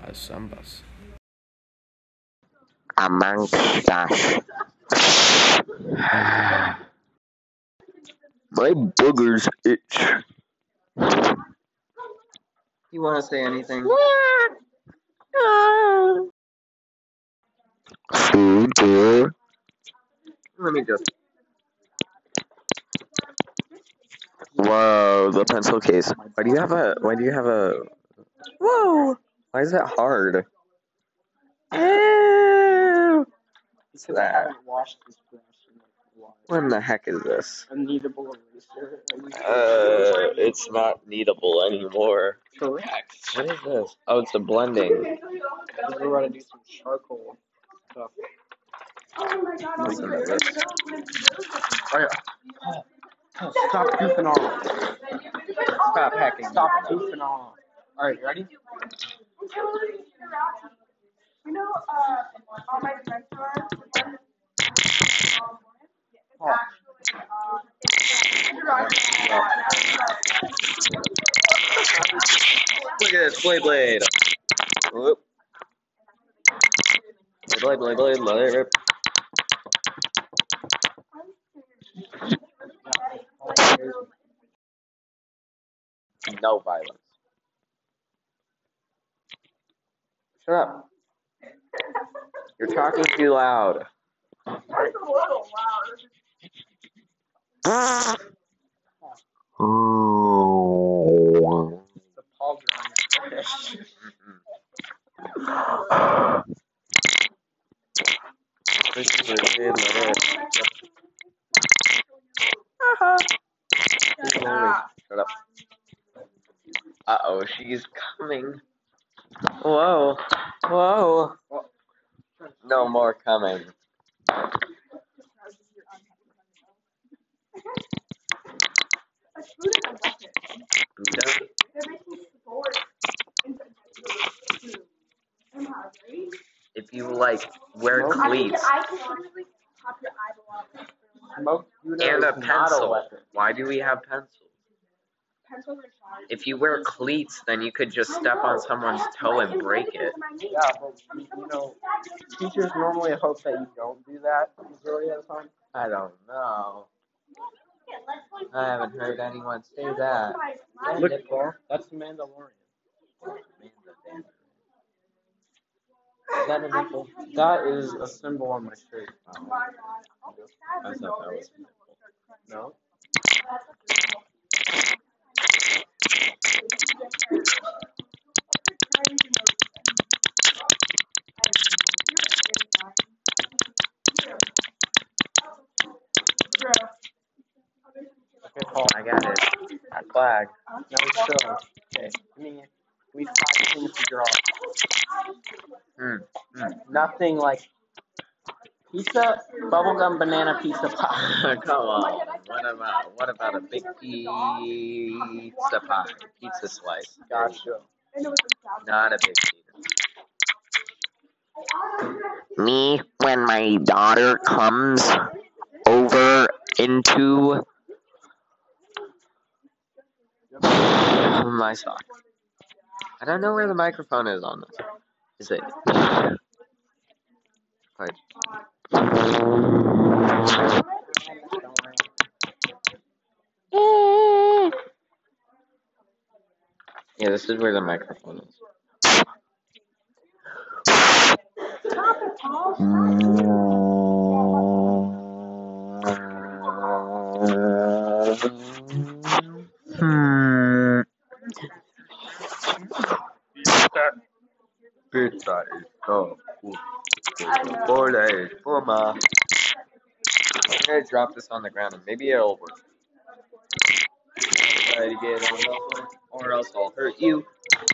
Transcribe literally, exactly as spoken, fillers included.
has Sambas. Amongst us. My boogers itch. You want to say anything? Food tour. Let me just. Whoa, the pencil case. Why do you have a? Why do you have a? Whoa! Why is that hard? Ew. What's Because I that? haven't washed this brush in like a while. What in the heck is this? A kneadable eraser. I used to- Uh, it's not kneadable anymore. Correct. What is this? Oh, it's a blending. Because we're about to do some charcoal stuff. Listen to this. Oh, yeah. Oh, stop goofing off. Stop hacking. Stop goofing off. Alright, you ready? You know, uh, all my friends are. Oh. Look at this blade blade. Whoop. Blade blade blade blade blade. No violence. Shut up. You're talking too loud. Oh. The paws are on your fish. Shut up. Uh oh, she's coming. Whoa. Whoa. No more coming. If you like wear cleats Smoke Buddha and a is not pencil, weapon. why do we have pencils? If you wear cleats, then you could just step on someone's toe and break it. Yeah, but you know, teachers normally hope that you don't do that majority of the time. I don't know. I haven't heard anyone say that. Look, Paul, that's the Mandalorian. Is that a nipple? That is a symbol on my shirt. Oh, I thought that was No? Okay, Paul. I got it. That flag. Now it's still. Okay. I mean, we have five things to draw. Hmm. Hmm. Nothing like pizza, bubblegum, banana, pizza pie. Come on. What about what about a big pizza pie? Pizza slice. Gotcha. Not a big pizza. Me, when my daughter comes over into my sock. I don't know where the microphone is on this. Is it? Right. Yeah, this is where the microphone is. Hmm. Pizza is so good. Four days, four ma. I'm gonna drop this on the ground and maybe it'll work. Try to get on the phone, or else I'll hurt you.